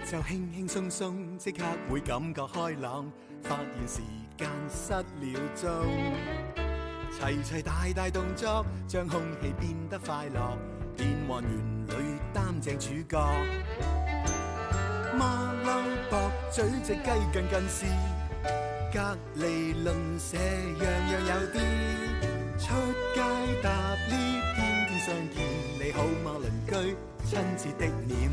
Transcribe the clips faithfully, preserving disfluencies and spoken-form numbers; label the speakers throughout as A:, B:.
A: 就輕輕鬆鬆，即刻會感覺開朗，發現時間失了蹤。齊齊大大動作，將空氣變得快樂，變幻園裏擔正主角。馬騮駁嘴隻雞近近視，隔離鄰舍樣樣有啲。出街搭 lift，天天相見，你好嗎鄰居？親切的臉，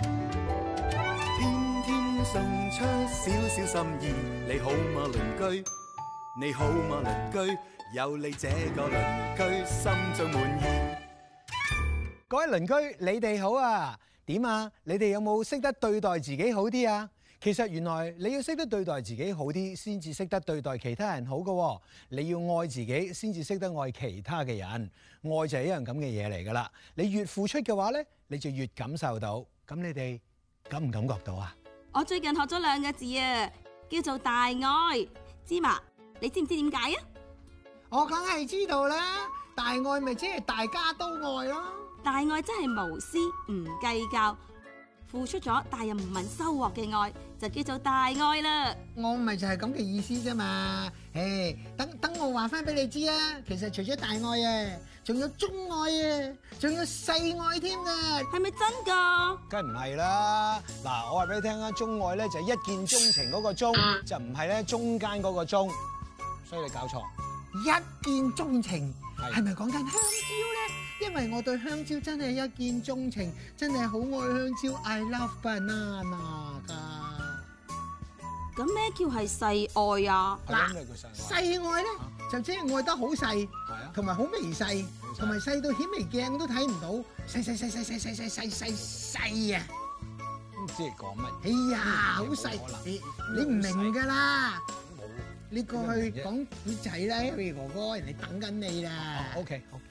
A: 天天送出少少心意，你好嗎鄰居？你好嗎鄰居？有你這個鄰居，心中滿意。
B: 各位鄰居，你哋好啊？點啊？你哋有冇識得對待自己好啲啊？其實原來你要識得對待自己好啲，先至識得對待其他人好㗎喎。你要愛自己，先至識得愛其他嘅人。愛就係一樣咁嘅嘢嚟㗎啦。你越付出嘅話咧，你就越感受到。咁你哋感唔感覺到啊？
C: 我最近學咗兩個字啊，叫做大愛。芝麻，你知唔知點解啊？
D: 我梗係知道啦，大愛咪即係大家都愛咯。
C: 大愛真係無私唔計較，付出咗但又唔問收穫嘅愛，就叫做大愛啦。
D: 我咪就係咁嘅意思啫嘛。誒，等等我話翻俾你知啊，其實除咗大愛啊，仲有中愛啊，仲有細愛添啊。
C: 係咪真㗎？
B: 梗唔係啦。嗱，我話俾你聽啊，中愛咧就係一見鍾情嗰個鍾，就唔係咧中間嗰個鐘，所以你搞錯。
D: 一見鍾情係咪講緊香蕉咧？因為我對香蕉真係一見鍾情，真係好愛香蕉 ，I love banana 㗎。
C: 咁咩叫係細愛啊？
D: 嗱，細愛咧就即係愛得好細，同埋好微細，同埋細到顯微鏡都睇唔到，細細細細細細細細細細啊！
B: 唔知你講乜？
D: 哎呀，好細，你你唔明㗎啦。你過去講古仔啦 ，Harry 哥哥，人哋等緊你啦。
B: OK， 好。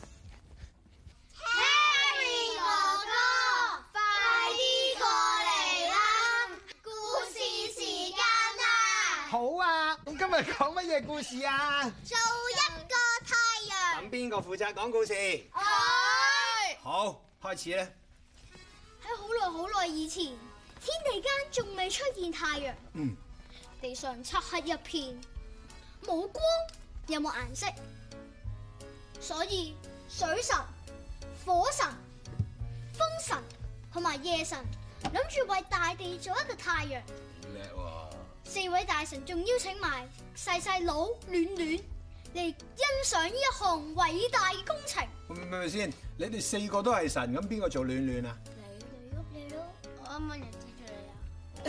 E: Harry 哥哥，快啲過嚟啦！故事時間啦！
B: 好啊，咁今日講乜嘢故事啊？
E: 做一個太陽。
B: 咁邊個負責講故事？
E: 我。
B: 好，開始咧。
E: 喺好耐好耐以前，天地間仲未出現太陽。
B: 嗯。
E: 地上漆黑一片，冇光，有冇顏色？所以水神、火神、風神同埋夜神諗住為大地做一個太陽。
B: 叻喎！
E: 四位大神仲邀請埋細細佬暖暖嚟欣賞呢一項偉大嘅工程。
B: 咪咪先，你哋四個都係神，咁邊個做暖暖啊？
E: 你你咯，你咯，我啱啱又指住你啊！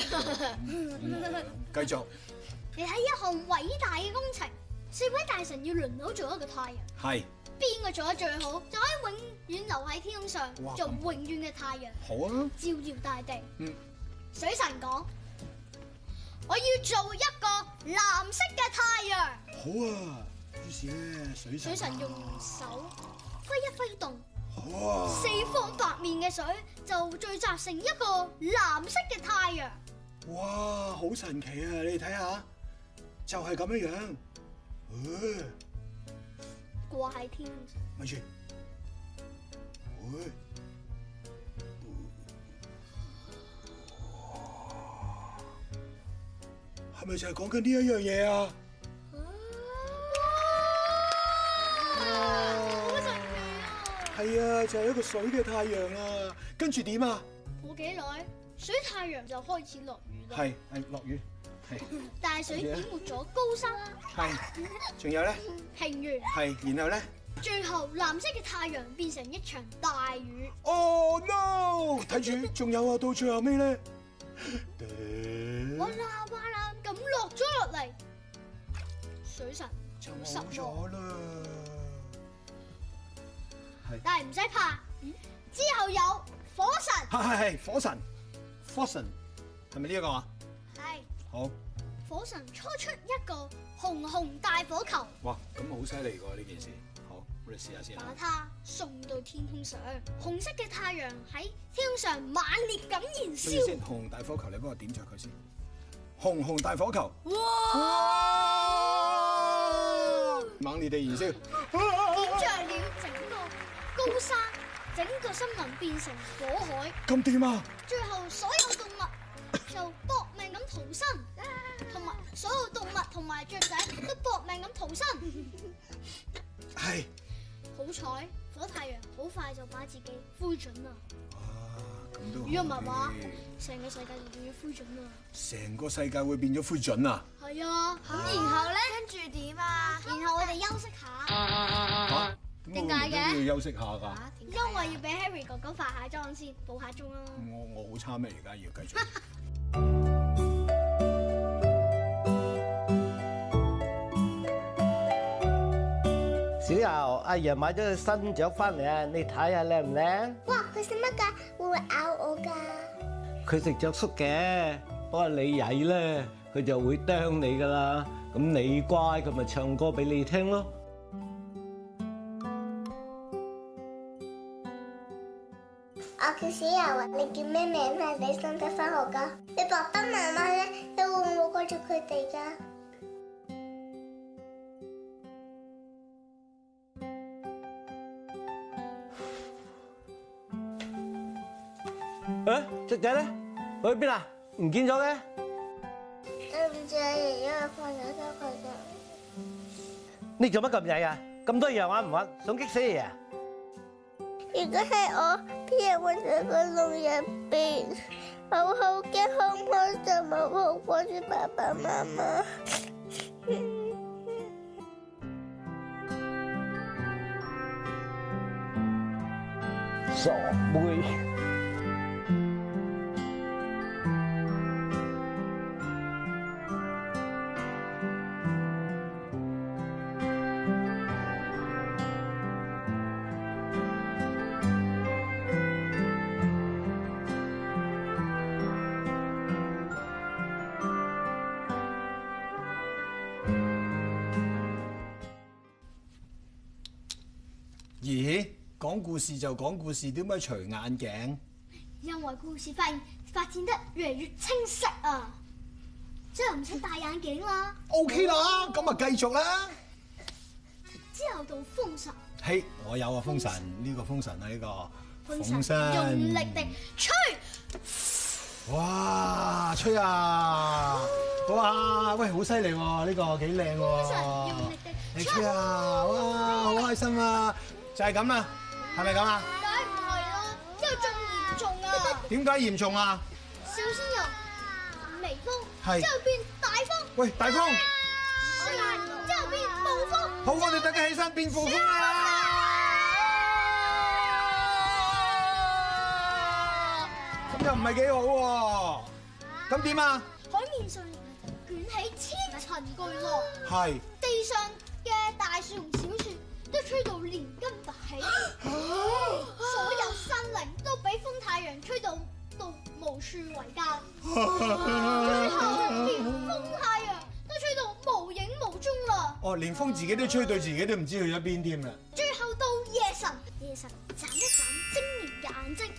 B: 繼續。
E: 你睇一項偉大嘅工程，四位大神要輪流做一個太陽。
B: 係。
E: 邊個做得最好，就可以永遠留喺天空上做永遠嘅太陽。
B: 好啊。
E: 照耀大地。
B: 嗯。
E: 水神講：我要做一個藍色嘅太陽。
B: 好啊。於是咧，水神。
E: 水神用手揮一揮動。
B: 哇！
E: 四方八面嘅水就聚集成一個藍色嘅太陽。
B: 哇，好神奇啊！你睇下，就係咁樣樣。誒，
E: 掛喺天。
B: 咪住。誒，係咪就係講緊呢一樣嘢啊？係啊，就係一個水嘅太陽啊！跟住點啊？
E: 冇幾耐，水太陽就開始落雨啦。
B: 係係落雨，係。
E: 大水淹沒咗高山。
B: 係。仲有咧？
E: 平原。
B: 係，然後咧？
E: 最後藍色嘅太陽變成一場大雨。
B: Oh no！睇住，仲有啊，到最後尾咧，
E: 嘩啦嘩啦咁落咗落嚟，水神就失望啦。但係唔使怕，之後有火神。
B: 係係係，火神，火神，係咪呢一個啊？
E: 係。
B: 好。
E: 火神初出一個紅紅大火球。
B: 哇，咁好犀利㗎呢件事。好，我哋試下先。
E: 把它送到天空上，紅色嘅太陽喺天空上猛烈咁燃燒。
B: 先，紅大火球，你幫我點着佢先。紅紅大火球。
E: 哇！
B: 猛烈地燃燒。
E: 點着了整個高山，整個森林變成火海。
B: 咁點啊？
E: 最後所有動物就搏命咁逃生，同埋所有動物同埋雀仔都搏命咁逃生。
B: 係。
E: 好彩，火太陽好快就把自己灰燼啦。
B: 咁都
E: 如果唔係話，成個世界就變咗灰燼啦。
B: 成個世界會變咗灰燼啊！
E: 係啊，咁然後咧，跟住點啊？然後我哋休息下。
B: 嚇？
E: 點解嘅？
B: 要休息下㗎。
E: 因為要俾 Harry 哥哥化下妝先，補下妝啦。
B: 我我好差咩？而家要繼續。
F: 小柔，阿爺買咗隻新雀翻嚟啊！你睇下靚唔靚？
E: 哇！佢食乜㗎？會唔會咬我㗎？
F: 佢食雀粟嘅，不過你曳咧，佢就會啄你噶啦。咁你乖，佢咪唱歌俾你聽咯。
G: 我叫小柔啊，你叫咩名啊？你使唔使翻學㗎？你爸爸媽媽咧，你會唔會掛住佢哋㗎？
F: 誒，雀仔咧，去邊啊？唔見咗嘅。
G: 對唔住啊，爺爺，我放咗咗佢㗎。
F: 你做乜咁曳啊？咁多樣玩唔玩？想激死你啊！
G: 如果係我，俾人困喺個籠入邊，我好驚，好唔開心，我好掛住爸爸媽媽。
F: 傻妹。
B: 咦？講故事就講故事，點解除眼鏡？
E: 因為故事發現發展得越嚟越清晰啊，之後唔使戴眼鏡啦。
B: OK 啦，咁啊繼續啦。
E: 之後到風神。
B: 係，我有啊，風神呢個風神啊，呢個
E: 風神用力地吹。
B: 哇！吹啊！哇！喂，好犀利喎，呢個幾靚喎。
E: 風神用力地
B: 你吹啊！哇，好開心啊！就係咁啦，係咪咁啊？
E: 梗唔係啦，之後仲嚴重啊！
B: 點解嚴重啊？
E: 小仙由微風，
B: 係
E: 之後變大風。
B: 喂，大風！
E: 之後變暴風。
B: 好，我哋大家起身變暴風啦！咁又唔係幾好喎。咁點啊？
E: 海面上捲起千層巨浪，
B: 係。
E: 地上嘅大樹同小樹都吹到連根拔起，所有生靈都俾風太陽吹到到無處為家，最後連風太陽都吹到無影無蹤啦。
B: 哦，連風自己都吹到自己都唔知去咗邊添啦。
E: 最後到夜神，夜神眨一眨晶瑩嘅眼睛，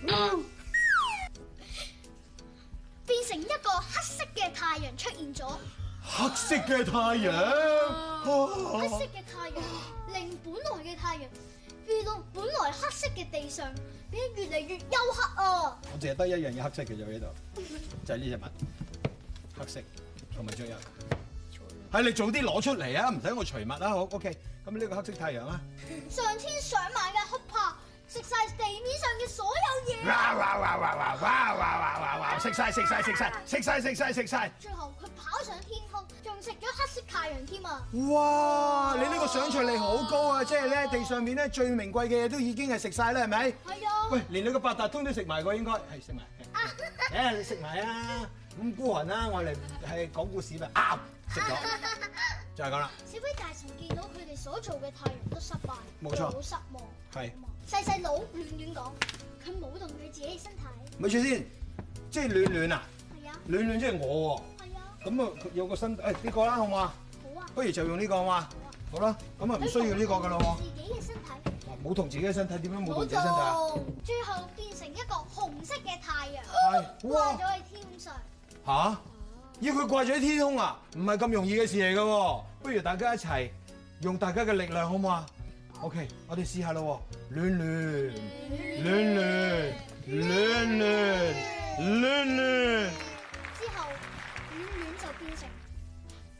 E: 變成一個黑色嘅太陽出現咗。
B: 黑色嘅太陽，
E: 黑色嘅太陽令本來嘅太陽變到本來黑色嘅地上變得越嚟越黝黑啊！
B: 我淨係得一樣嘢黑色嘅啫喺度，就係呢隻物，黑色同埋仲有，係你早啲攞出嚟啊！唔使我除物啦，好 OK。咁呢個黑色太陽啊，
E: 上千上萬嘅黑豹食晒地面上嘅所有嘢，
B: 哇哇哇哇哇哇哇哇哇哇！食晒食晒食晒食晒食晒食晒！
E: 最後佢跑上天空，仲食咗黑色太陽添啊！
B: 哇！你呢個想像力好高啊！即係咧地上面咧最名貴嘅嘢都已經係食晒啦，係咪？
E: 係啊！
B: 喂，連你個八達通都食埋個應該係食埋。誒，你食埋啊！咁孤寒啦，我哋係講故事咪啱食咗，就係咁啦。
E: 小飛大神見到佢哋所做嘅太陽都失敗，
B: 冇錯
E: 好失望。
B: 係。
E: 細細佬亂亂講，佢冇動佢自己嘅身體。
B: 咪住先，即係暖暖啊！
E: 係啊。
B: 暖暖即係我喎。
E: 係啊。
B: 咁啊，有個身誒呢個啦，好唔好啊？
E: 好啊。
B: 不如就用呢個好嘛？好啦，咁啊唔需要呢個噶咯喎。
E: 自己嘅身體。
B: 冇同自己嘅身體，點樣冇同自己身體啊？
E: 最後變成一個紅色嘅太陽，
B: 係哇
E: 掛咗喺天上。
B: 吓？要佢掛咗喺天空啊？唔係咁容易嘅事嚟噶喎。不如大家一齊用大家嘅力量好唔好啊 ？OK， 我哋試下咯喎。暖暖暖暖暖暖暖暖。之後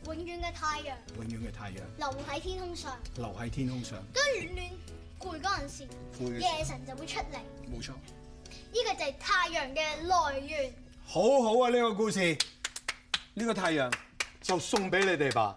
E: 永遠嘅太陽，
B: 永遠嘅太陽
E: 留喺天空上。
B: 留喺天空上。
E: 當暖暖攰嗰陣時，
B: 攰
E: 夜神就會出嚟。
B: 冇錯。
E: 呢個就係太陽嘅來源。
B: 好好啊！呢個故事，呢個太陽就送俾你哋吧。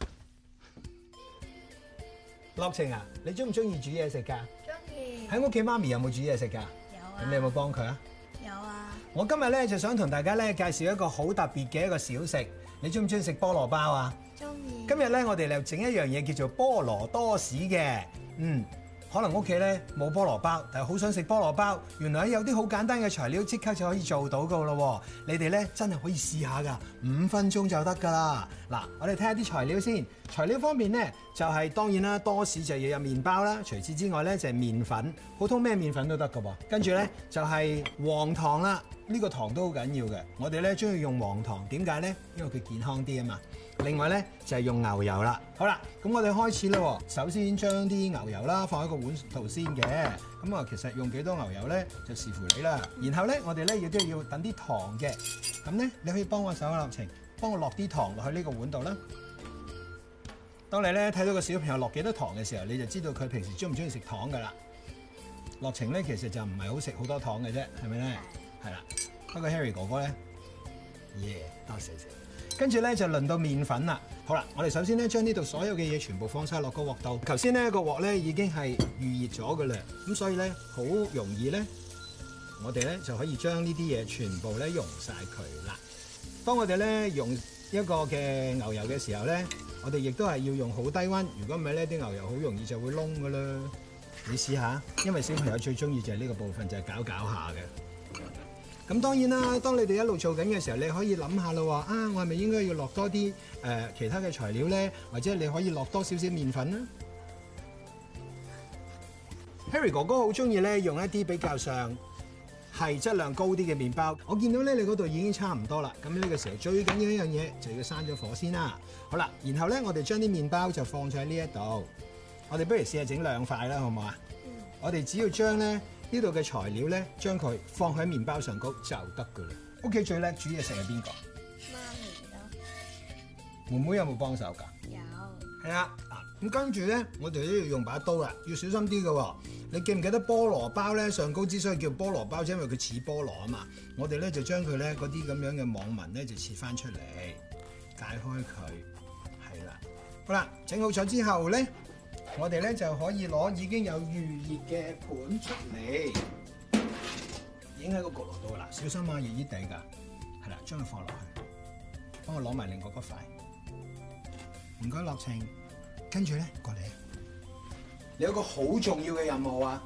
B: 樂晴啊，你中唔中意煮嘢食㗎？
H: 中意。
B: 喺屋企媽咪有冇煮嘢食㗎？
H: 有啊。
B: 咁你有冇幫佢啊？
H: 有啊。
B: 我今日咧就想同大家咧介紹一個好特別嘅一個小食。你中唔中意食菠蘿包啊？
H: 中意。
B: 今日咧我哋嚟整一樣嘢叫做菠蘿多士嘅。嗯。可能屋企咧冇菠蘿包，但係好想食菠蘿包。原來有啲好簡單嘅材料，即刻就可以做到噶咯喎！你哋咧真係可以試下㗎，五分鐘就得㗎啦。嗱，我哋睇下啲材料先。材料方面咧，就係、是、當然啦，多士就要有麵包啦。除此之外咧，就係、是、麵粉，普通咩麵粉都得㗎喎。跟住咧就係、是、黃糖啦，呢、這個糖都好緊要嘅。我哋咧中意用黃糖，點解咧？因為佢健康啲啊嘛。另外咧就係、是、用牛油啦。好啦，咁我哋開始啦。首先將啲牛油啦放喺個碗度先嘅。咁啊，其實用幾多牛油咧就視乎你啦。然後咧，我哋咧亦都要等啲糖嘅。咁咧，你可以幫我手啊，樂晴，幫我落啲糖落去呢個碗度啦。當你咧睇到個小朋友落幾多糖嘅時候，你就知道佢平時中唔中意食糖噶啦。樂晴咧其實就唔係好食好多糖嘅啫，係咪咧？係啦。不過 Harry 哥哥咧，耶，多謝謝。跟住咧就輪到麵粉啦。好啦，我哋首先咧將呢度所有嘅嘢全部放晒落個鑊度。頭先咧個鑊咧已經係預熱咗嘅啦，咁所以咧好容易咧，我哋咧就可以將呢啲嘢全部咧溶晒佢啦。當我哋咧用一個嘅牛油嘅時候咧，我哋亦都係要用好低溫。如果唔係咧，啲牛油好容易就會燶㗎啦。你試下，因為小朋友最中意就係呢個部分，就係攪攪下嘅。咁當然啦，當你哋一路做緊嘅時候，你可以諗下啦，話啊，我係咪應該要落多啲誒、呃、其他嘅材料咧？或者你可以落多少少麵粉啦。Harry 哥哥好中意咧用一啲比較上係質量高啲嘅麵包。我見到咧你嗰度已經差唔多啦。咁呢個時候最緊要一樣嘢就要閂咗火先啦。好啦，然後咧我哋將啲麵包就放咗喺呢一度。我哋不如試下整兩塊啦，好唔好啊？嗯、我哋只要將咧呢度嘅材料咧，將佢放喺麵包上高就得噶啦。屋企最叻煮嘢食係邊個？
H: 媽咪咯。
B: 妹妹有冇幫手㗎？
H: 有。
B: 係啊，嗱咁跟住咧，我哋都要用把刀啦，要小心啲嘅喎。你記唔記得菠蘿包咧上高之所以叫菠蘿包，就因為佢似菠蘿啊嘛。我哋咧就將佢咧嗰啲咁樣嘅網紋咧就切翻出嚟，解開佢，係啦。好啦，整好咗之後咧，我哋咧就可以攞已經有預熱嘅盤出嚟，已經喺個焗爐度啦。小心啊，熱熱地㗎，係啦，將佢放落去，幫我攞埋另外嗰塊。唔該，樂晴，跟住咧過嚟，你有個好重要嘅任務啊！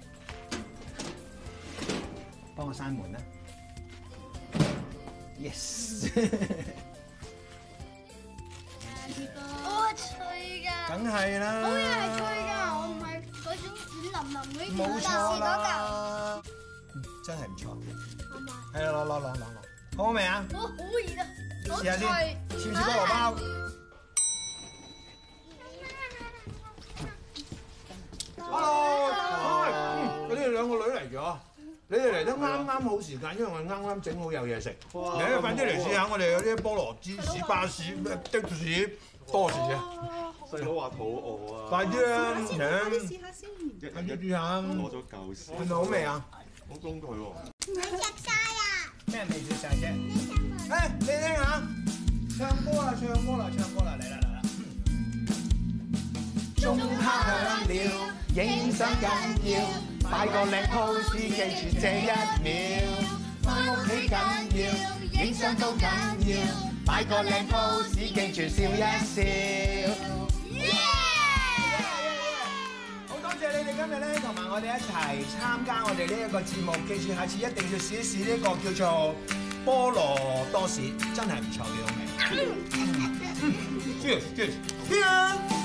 B: 幫我閂門啦 ！Yes。
E: 我脆㗎。
B: 梗係啦。
E: 好嘢係脆㗎，我唔係嗰種軟腍腍嗰啲。
B: 冇錯啦。
E: 嗯，
B: 真係唔錯。
E: 好嘛？
B: 係啊，攞攞攞攞攞，好好味啊？
E: 好好熱啊！好
B: 試下先，
E: 脆。
B: 似唔似菠蘿包？Hello，嗯，你哋兩個女嚟咗，你哋嚟得啱啱好時間，因為我哋啱啱整好有嘢食。你快啲嚟試下我哋有啲菠蘿芝士巴士的士多士啊！
I: 細佬話肚餓啊！
B: 快啲啊！請，
H: 試下先。
B: 快啲試下。
I: 攞咗嚿先。
B: 係咪好味啊？
I: 好公佢喎。
G: 你食晒啊？
B: 咩未食晒啫？誒，你聽下，唱歌啦，唱歌啦，唱歌啦，嚟啦嚟啦！鐘敲響了，影相緊要，擺個靚 pose 記住這一秒。返屋企緊要，影相都緊要，擺個靚 pose 記住笑一笑。好多謝你哋今日咧同埋我哋一齊參加我哋呢一個節目，記住下次一定要試一試呢個叫做菠蘿多士，真係唔錯嘅好味。Cheers，cheers，cheers！